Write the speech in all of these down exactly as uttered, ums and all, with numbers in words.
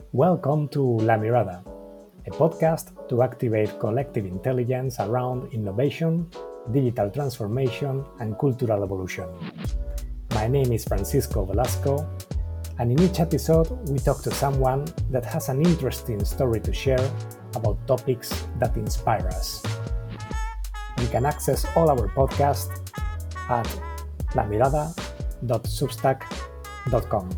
Welcome to La Mirada, a podcast to activate collective intelligence around innovation, digital transformation, and cultural evolution. My name is Francisco Velasco, and in each episode we talk to someone that has an interesting story to share about topics that inspire us. You can access all our podcasts at la mirada dot substack dot com.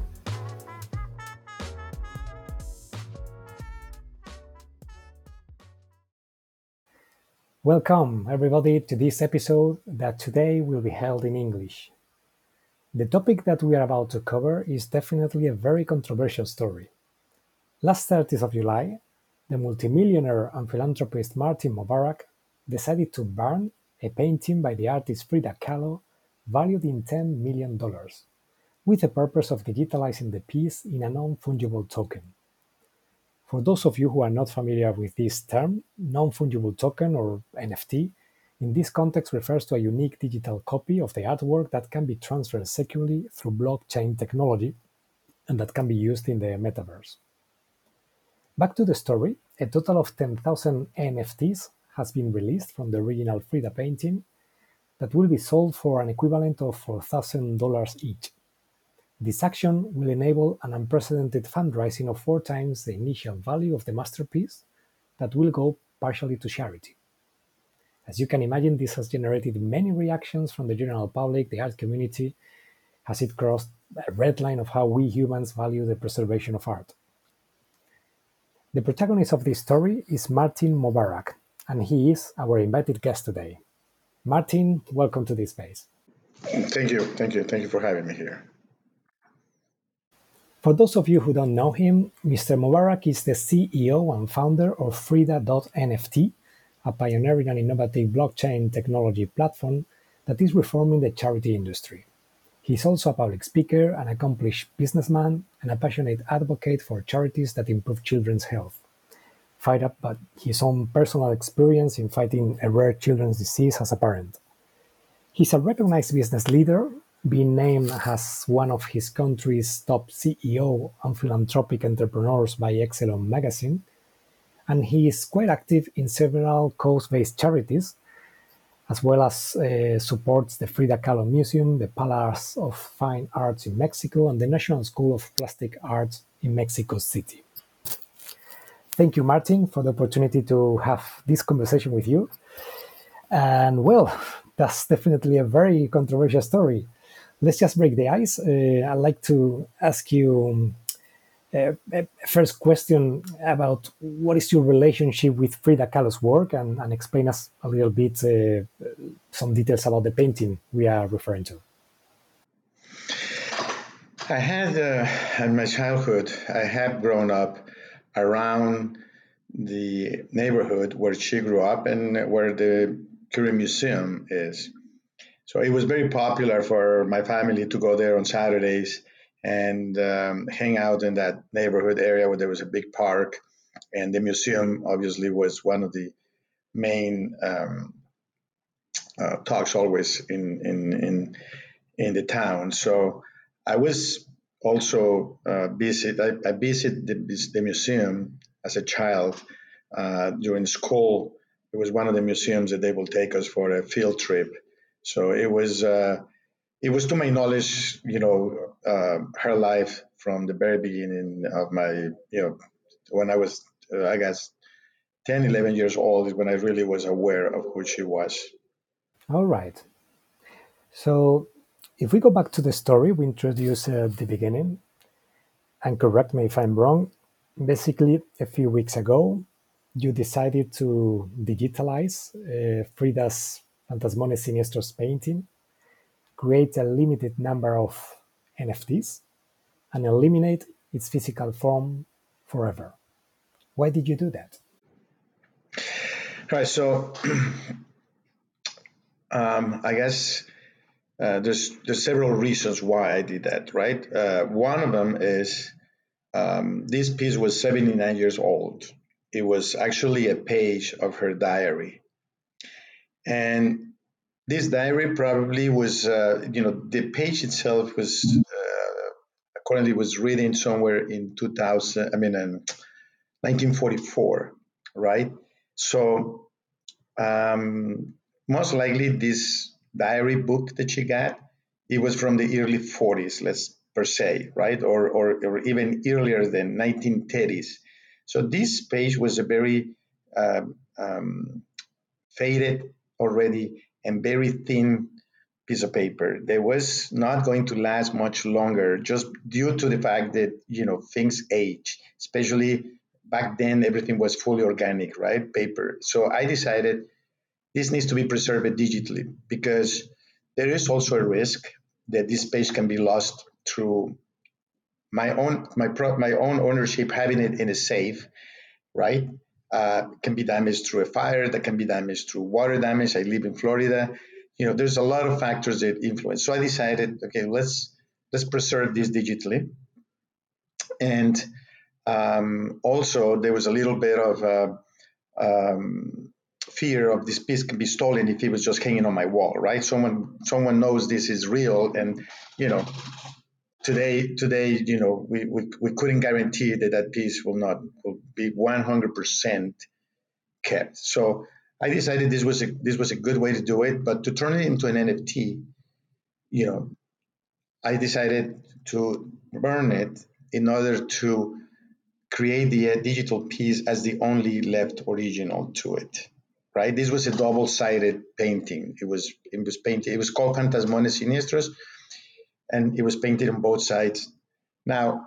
Welcome, everybody, to this episode that today will be held in English. The topic that we are about to cover is definitely a very controversial story. Last thirtieth of July, the multimillionaire and philanthropist Martin Mubarak decided to burn a painting by the artist Frida Kahlo valued in ten million dollars, with the purpose of digitalizing the piece in a non-fungible token. For those of you who are not familiar with this term, non-fungible token, or N F T, in this context refers to a unique digital copy of the artwork that can be transferred securely through blockchain technology and that can be used in the metaverse. Back to the story, a total of ten thousand N F Ts has been released from the original Frida painting that will be sold for an equivalent of four thousand dollars each. This action will enable an unprecedented fundraising of four times the initial value of the masterpiece that will go partially to charity. As you can imagine, this has generated many reactions from the general public, the art community, as it crossed a red line of how we humans value the preservation of art. The protagonist of this story is Martin Mubarak, and he is our invited guest today. Martin, welcome to this space. Thank you, thank you, thank you for having me here. For those of you who don't know him, Mister Mubarak is the C E O and founder of Frida dot N F T, a pioneering and innovative blockchain technology platform that is reforming the charity industry. He's also a public speaker, an accomplished businessman, and a passionate advocate for charities that improve children's health, fired up by his own personal experience in fighting a rare children's disease as a parent. He's a recognized business leader, being named as one of his country's top C E O and philanthropic entrepreneurs by Excellent magazine, and he is quite active in several cause-based charities, as well as uh, supports the Frida Kahlo Museum, the Palace of Fine Arts in Mexico, and the National School of Plastic Arts in Mexico City. Thank you, Martin, for the opportunity to have this conversation with you. And well, that's definitely a very controversial story. Let's just break the ice. Uh, I'd like to ask you uh, a first question about what is your relationship with Frida Kahlo's work, and, and explain us a little bit uh, some details about the painting we are referring to. I had, uh, in my childhood, I have grown up around the neighborhood where she grew up and where the Curie Museum is. So it was very popular for my family to go there on Saturdays and um, hang out in that neighborhood area where there was a big park. And the museum obviously was one of the main um, uh, talks always in, in, in, in the town. So I was also uh, visit, I, I visited the, the museum as a child uh, during school. It was one of the museums that they will take us for a field trip. So it was uh, it was to my knowledge, you know, uh, her life from the very beginning of my, you know, when I was, uh, I guess, ten, eleven years old is when I really was aware of who she was. All right. So if we go back to the story we introduced at the beginning, and correct me if I'm wrong, basically a few weeks ago, you decided to digitalize uh, Frida's Fantasmones Siniestros painting, create a limited number of N F Ts, and eliminate its physical form forever. Why did you do that? Right. So um, I guess uh, there's there's several reasons why I did that. Right. Uh, one of them is um, this piece was seventy-nine years old. It was actually a page of her diary, and this diary probably was, uh, you know, the page itself was uh, currently was reading somewhere in two thousand, I mean, in nineteen forty-four, right? So um, most likely this diary book that she got, it was from the early forties, let's per se, right? Or, or, or even earlier than nineteen thirties. So this page was a very um, um, faded already and very thin piece of paper. They was not going to last much longer just due to the fact that, you know, things age, especially back then everything was fully organic, right? Paper. So I decided this needs to be preserved digitally because there is also a risk that this page can be lost through my own my pro, my own ownership having it in a safe, right? Uh, can be damaged through a fire, that can be damaged through water damage. I live in Florida. You know, there's a lot of factors that influence. So I decided, okay, let's let's preserve this digitally. And um, also, there was a little bit of uh, um, fear of this piece can be stolen if it was just hanging on my wall, right? Someone someone knows this is real, and you know, today today you know we, we, we couldn't guarantee that that piece will not will be one hundred percent kept. So I decided this was a this was a good way to do it. But to turn it into an N F T, you know, I decided to burn it in order to create the uh, digital piece as the only left original to it. Right. This was a double-sided painting. It was it was painted. It was called Fantasmones Siniestros, and it was painted on both sides. Now,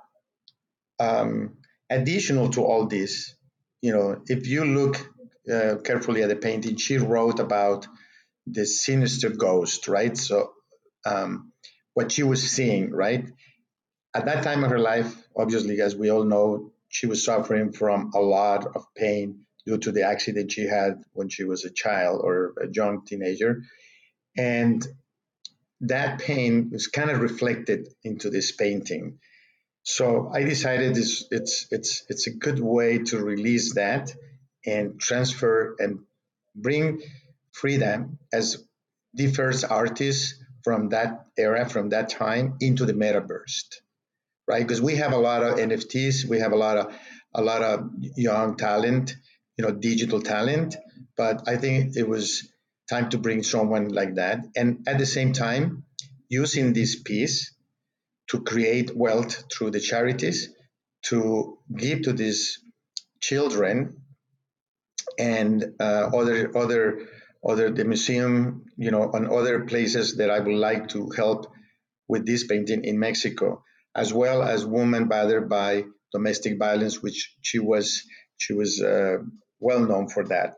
um, additional to all this, you know, if you look uh, carefully at the painting, she wrote about the sinister ghost, right? So, um, what she was seeing, right? At that time of her life, obviously, as we all know, she was suffering from a lot of pain due to the accident she had when she was a child or a young teenager. And that pain was kind of reflected into this painting. So I decided this, it's it's it's a good way to release that and transfer and bring Frida as the first artist from that era, from that time, into the metaverse, right? Because we have a lot of N F Ts, we have a lot of a lot of young talent, you know, digital talent. But I think it was time to bring someone like that, and at the same time, using this piece to create wealth through the charities, to give to these children and uh, other other other the museum, you know, and other places that I would like to help with this painting in Mexico, as well as women battered by domestic violence, which she was she was uh, well known for that.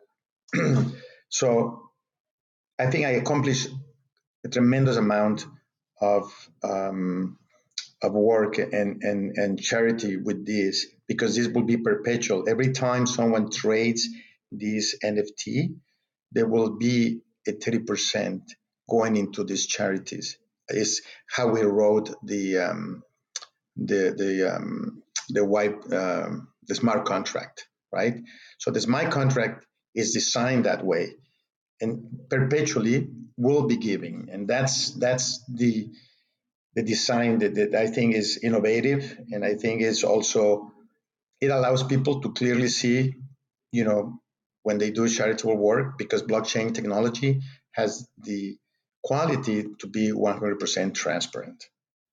So I think I accomplished a tremendous amount of um, of work and, and, and charity with this because this will be perpetual. Every time someone trades this N F T, there will be a thirty percent going into these charities. Is how we wrote the um, the the um, the white um, the smart contract, right? So the smart contract is designed that way, and perpetually will be giving, and that's that's the the design that, that I think is innovative, and I think is also it allows people to clearly see, you know, when they do charitable work because blockchain technology has the quality to be one hundred percent transparent.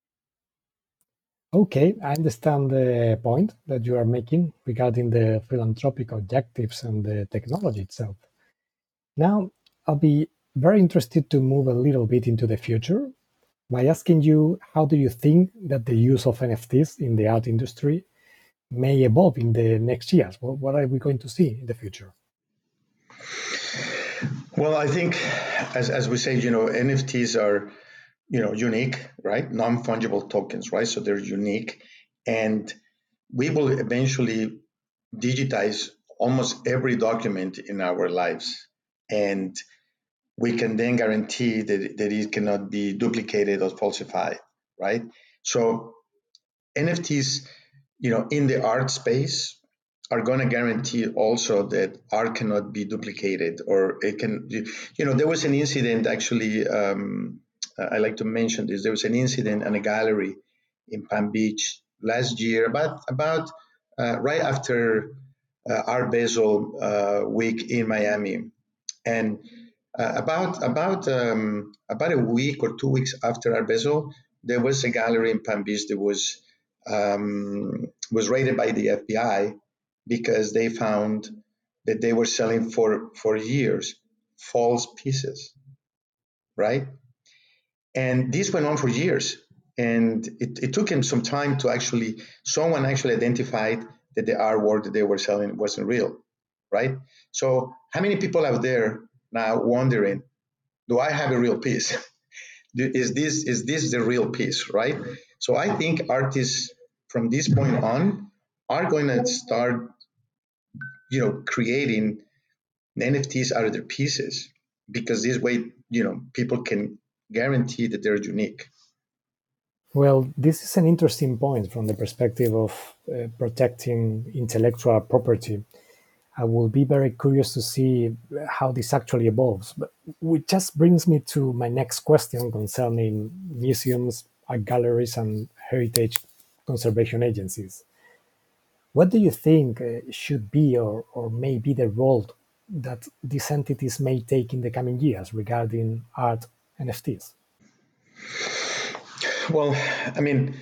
Okay, I understand the point that you are making regarding the philanthropic objectives and the technology itself. Now, I'll be very interested to move a little bit into the future by asking you how do you think that the use of N F Ts in the art industry may evolve in the next years? What, what are we going to see in the future? Well, I think, as, as we say, you know, N F Ts are, you know, unique, right? Non-fungible tokens, right? So they're unique, and we will eventually digitize almost every document in our lives, and we can then guarantee that, that it cannot be duplicated or falsified, right? So N F Ts, you know, in the art space are going to guarantee also that art cannot be duplicated or it can, you know, there was an incident actually, um, I like to mention this, there was an incident in a gallery in Palm Beach last year, about about uh, right after uh, Art Basel uh, week in Miami, and uh, about about um, about a week or two weeks after Art Basel, there was a gallery in Palm Beach that was um, was raided by the F B I because they found that they were selling for for years false pieces, right? And this went on for years, and it, it took him some time to actually someone actually identified that the artwork that they were selling wasn't real, right? So how many people out there now wondering, do I have a real piece? is this is this the real piece, right? So I think artists from this point on are going to start, you know, creating N F Ts out of their pieces, because this way, you know, people can guarantee that they're unique. Well, this is an interesting point from the perspective of uh, protecting intellectual property. I will be very curious to see how this actually evolves. But which just brings me to my next question concerning museums, art galleries, and heritage conservation agencies. What do you think uh, should be or, or may be the role that these entities may take in the coming years regarding art N F Ts? Well, I mean,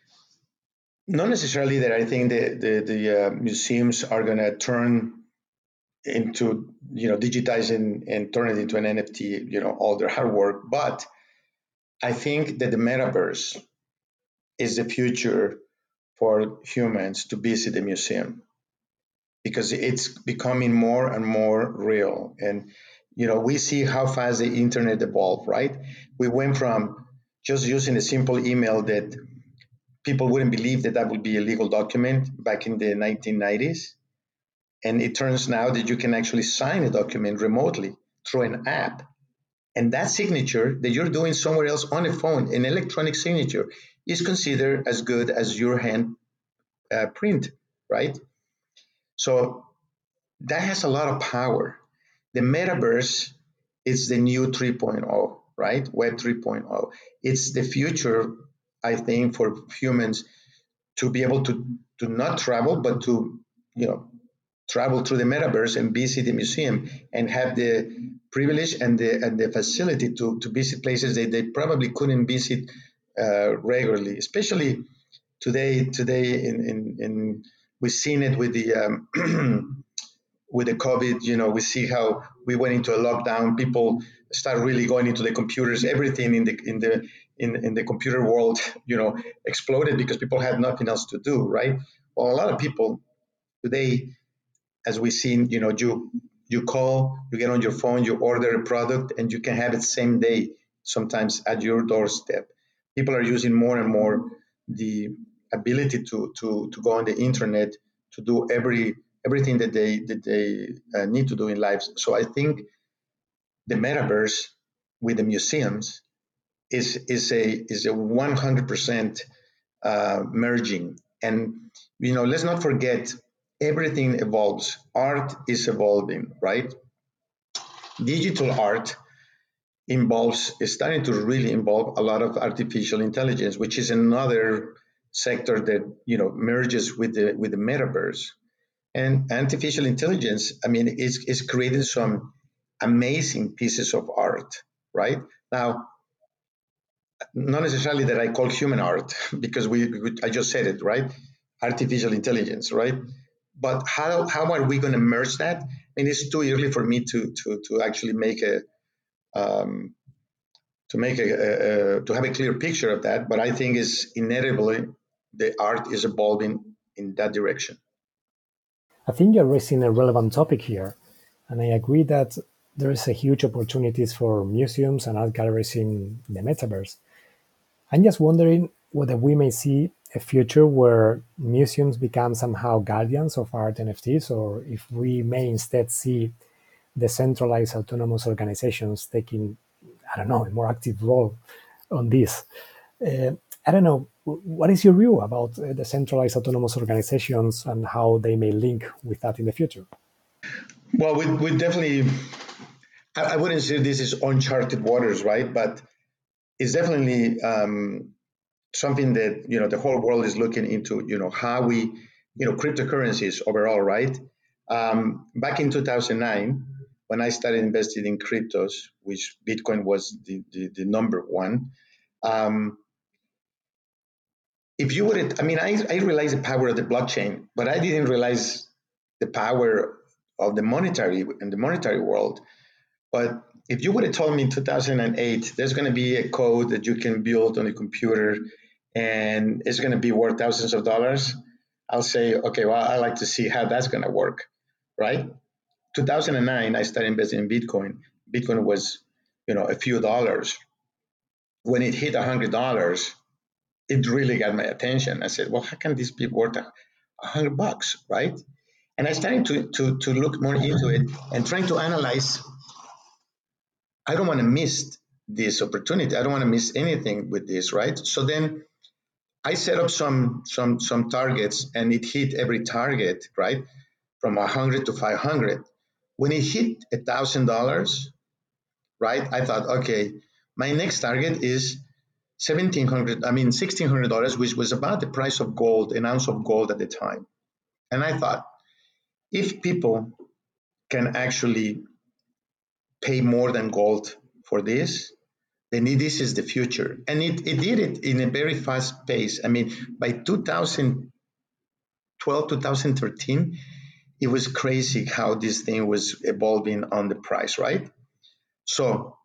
not necessarily that I think the the, the uh, museums are going to turn into, you know, digitizing and turn it into an N F T, you know, all their hard work, but I think that the metaverse is the future for humans to visit a museum, because it's becoming more and more real. And you know, we see how fast the internet evolved, right? We went from just using a simple email that people wouldn't believe that that would be a legal document back in the nineteen nineties. And it turns now that you can actually sign a document remotely through an app. And that signature that you're doing somewhere else on a phone, an electronic signature, is considered as good as your hand uh, print, right? So that has a lot of power. The metaverse is the new 3.0, right? Web 3.0. It's the future, I think, for humans to be able to to not travel, but to, you know, travel through the metaverse and visit the museum and have the privilege and the and the facility to to visit places that they probably couldn't visit uh, regularly. Especially today, today in in, in we've seen it with the um, with the COVID. You know, we see how we went into a lockdown. People start really going into the computers. Everything in the in the in, in the computer world, you know, exploded because people had nothing else to do, right? Well, a lot of people today, as we've seen, you know, you you call, you get on your phone, you order a product, and you can have it same day, sometimes at your doorstep. People are using more and more the ability to to to go on the internet to do every everything that they that they uh, need to do in life. So I think the metaverse with the museums is is a is a one hundred percent uh, merging. And you know, let's not forget, everything evolves. Art is evolving, right? Digital art involves is starting to really involve a lot of artificial intelligence, which is another sector that, you know, merges with the with the metaverse. And artificial intelligence, I mean, is is creating some amazing pieces of art, right? Now, not necessarily that I call human art, because we, we I just said it, right? Artificial intelligence, right? But how how are we going to merge that? I mean, it's too early for me to to to actually make a um, to make a, a, a to have a clear picture of that. But I think is inevitably the art is evolving in that direction. I think you're raising a relevant topic here, and I agree that there is a huge opportunities for museums and art galleries in the metaverse. I'm just wondering whether we may see a future where museums become somehow guardians of art N F Ts, or if we may instead see decentralized autonomous organizations taking, I don't know, a more active role on this. Uh, I don't know. What is your view about uh, decentralized autonomous organizations and how they may link with that in the future? Well, we, we definitely, I, I wouldn't say this is uncharted waters, right? But it's definitely um, something that, you know, the whole world is looking into, you know, how we, you know, cryptocurrencies overall, right? Um, back in two thousand nine, when I started investing in cryptos, which Bitcoin was the, the, the number one, um, if you would, I mean, I, I realized the power of the blockchain, but I didn't realize the power of the monetary in the monetary world. But if you would have told me in two thousand eight, there's going to be a code that you can build on a computer and it's going to be worth thousands of dollars, I'll say, okay, well, I like to see how that's going to work, right? two thousand nine, I started investing in Bitcoin. Bitcoin was, you know, a few dollars. When it hit one hundred dollars, it really got my attention. I said, well, how can this be worth a hundred bucks, right? And I started to, to, to look more into it and trying to analyze. I don't want to miss this opportunity. I don't want to miss anything with this, right? So then I set up some some some targets, and it hit every target, right, from one hundred to five hundred. When it hit a thousand dollars, right, I thought, okay, my next target is seventeen hundred. I mean, sixteen hundred dollars, which was about the price of gold, an ounce of gold at the time. And I thought, if people can actually pay more than gold for this, then this is the future. And it, it did it in a very fast pace. I mean, by two thousand twelve, two thousand thirteen, it was crazy how this thing was evolving on the price, right? So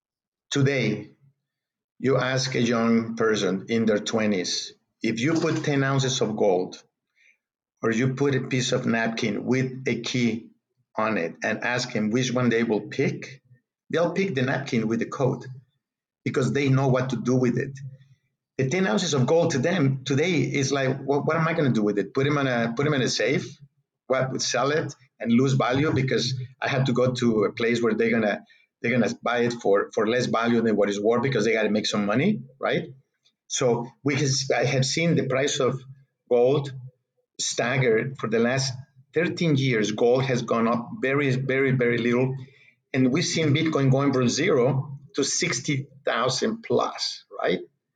today, you ask a young person in their twenties, if you put ten ounces of gold or you put a piece of napkin with a key on it and ask them which one they will pick, they'll pick the napkin with the code because they know what to do with it. The ten ounces of gold to them today is like, what, what am I going to do with it? Put them in a put them in a safe? What, sell it and lose value because I have to go to a place where they're gonna they're gonna buy it for for less value than what it's worth because they got to make some money, right? So we has, I have seen the price of gold staggered for the last thirteen years. Gold has gone up very, very, very little, and we've seen Bitcoin going from zero to sixty thousand plus, right?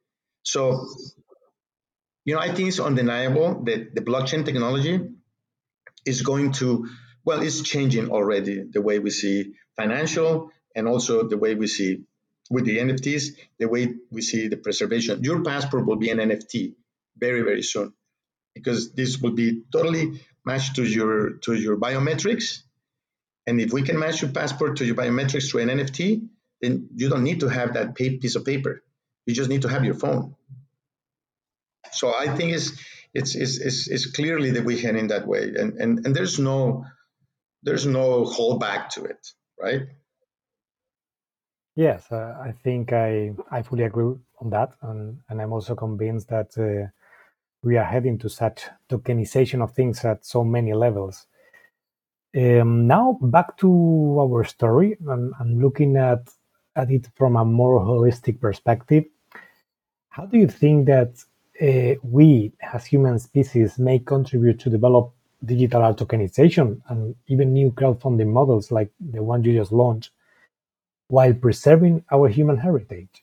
So, you know, I think it's undeniable that the blockchain technology is going to, well, it's changing already the way we see financial and also the way we see with the N F Ts, the way we see the preservation. Your passport will be an N F T very, very soon because this will be totally matched to your to your biometrics. And if we can match your passport to your biometrics through an N F T, then you don't need to have that piece of paper. You just need to have your phone. So I think it's it's it's it's, it's clearly that we head in that way, and and and there's no there's no holdback to it, right? Yes, uh, I think I, I fully agree on that. And, and I'm also convinced that uh, we are heading to such tokenization of things at so many levels. Um, now, back to our story, I'm, I'm looking at, at it from a more holistic perspective. How do you think that uh, we, as human species, may contribute to develop digital art tokenization and even new crowdfunding models like the one you just launched, while preserving our human heritage?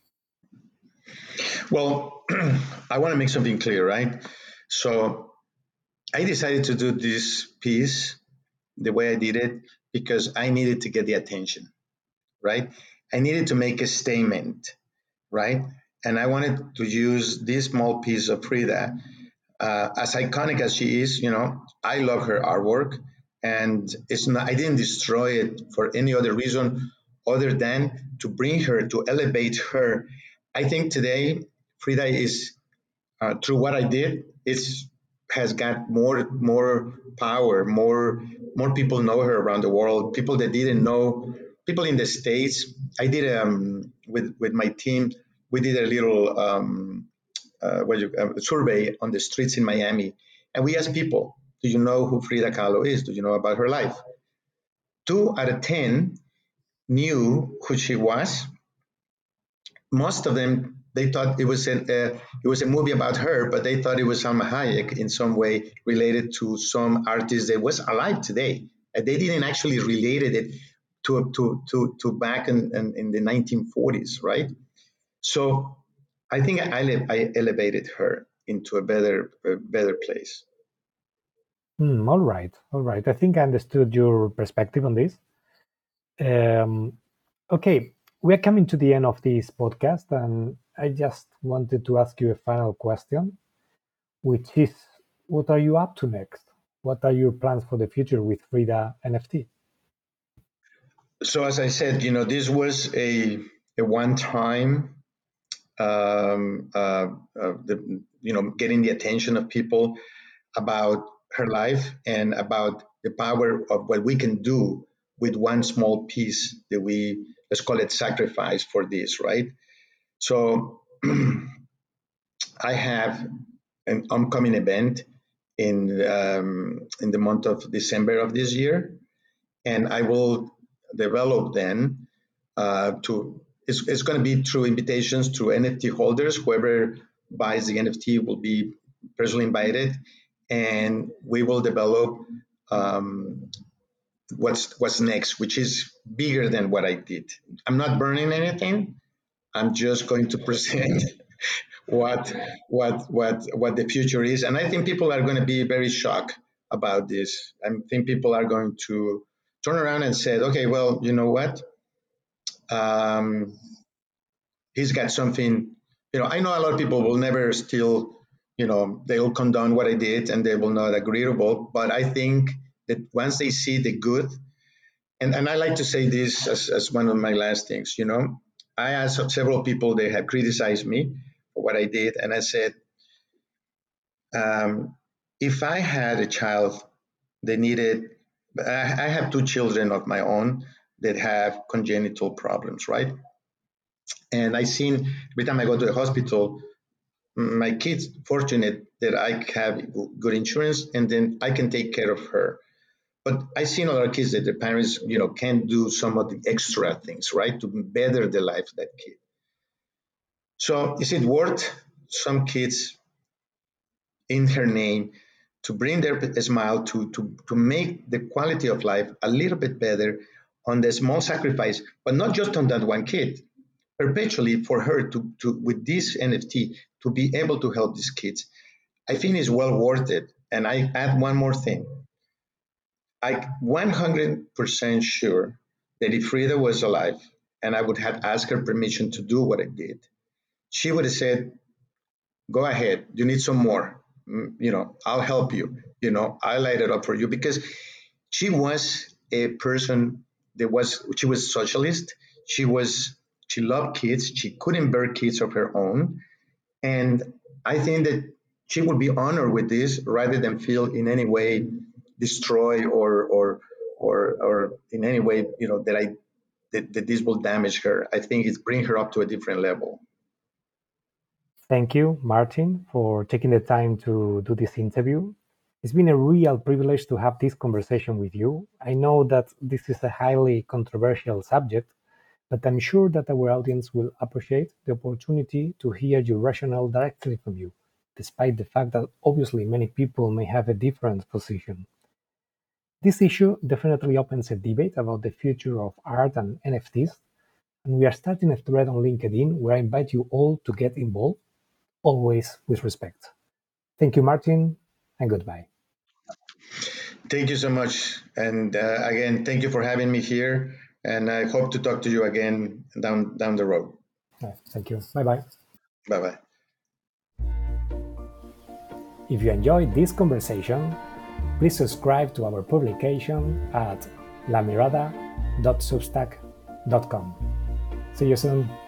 Well, I want to make something clear, right? So I decided to do this piece the way I did it because I needed to get the attention, right? I needed to make a statement, right? And I wanted to use this small piece of Frida, uh, as iconic as she is. You know, I love her artwork, and it's not. I didn't destroy it for any other reason other than to bring her, to elevate her. I think today Frida is, uh, through what I did, it's has got more more power, more more people know her around the world. People that didn't know, people in the states. I did um with with my team. We did a little um, uh, what you, uh, survey on the streets in Miami, and we asked people, "Do you know who Frida Kahlo is? Do you know about her life?" Two out of ten knew who she was. Most of them, they thought it was an, uh, it was a movie about her, but they thought it was Salma Hayek in some way related to some artist that was alive today. Uh, they didn't actually related it to to to, to back in, in, in the nineteen forties, right? So I think I, I elevated her into a better, a better place. Hmm, all right, all right. I think I understood your perspective on this. Um, okay, we are coming to the end of this podcast, and I just wanted to ask you a final question, which is, what are you up to next? What are your plans for the future with Frida N F T? So as I said, you know, this was a, a one-time, um, uh, uh, the, you know, getting the attention of people about her life and about the power of what we can do with one small piece that we, let's call it sacrifice for this, right? So I have an upcoming event in um, in the month of December of this year, and I will develop then uh, to. It's, it's going to be through invitations through N F T holders. Whoever buys the N F T will be personally invited, and we will develop um, what's what's next, which is bigger than what I did. I'm not burning anything. I'm just going to present what what what what the future is, and I think people are going to be very shocked about this. I think people are going to turn around and say, okay, well, you know what, um, he's got something. You know, I know a lot of people will never still, you know, they'll condone what I did and they will not agreeable, but I think that once they see the good, and, and I like to say this as, as one of my last things, you know, I asked several people, they have criticized me for what I did, and I said, Um, if I had a child that needed, I I have two children of my own that have congenital problems, right? And I seen every time I go to the hospital, my kids fortunate that I have good insurance, and then I can take care of her. But I seen a lot of kids that the parents, you know, can do some of the extra things, right, to better the life of that kid. So is it worth some kids in her name to bring their smile, to, to, to make the quality of life a little bit better on the small sacrifice, but not just on that one kid, perpetually for her to, to with this N F T to be able to help these kids. I think it's well worth it. And I add one more thing. I'm one hundred percent sure that if Frida was alive and I would have asked her permission to do what I did, she would have said, go ahead, you need some more. Mm, you know, I'll help you. You know, I light it up for you, because she was a person that was, she was socialist. She was, she loved kids. She couldn't bear kids of her own. And I think that she would be honored with this rather than feel in any way destroyed or, or, or, or in any way, you know, that I, that, that this will damage her. I think it's bring her up to a different level. Thank you, Martin, for taking the time to do this interview. It's been a real privilege to have this conversation with you. I know that this is a highly controversial subject, but I'm sure that our audience will appreciate the opportunity to hear your rationale directly from you, despite the fact that obviously many people may have a different position. This issue definitely opens a debate about the future of art and N F Ts, and we are starting a thread on LinkedIn where I invite you all to get involved, always with respect. Thank you, Martin, and goodbye. Thank you so much. And uh, again, thank you for having me here. And I hope to talk to you again down down the road. Right, thank you. Bye-bye. Bye-bye. If you enjoyed this conversation, please subscribe to our publication at lamirada dot substack dot com. See you soon.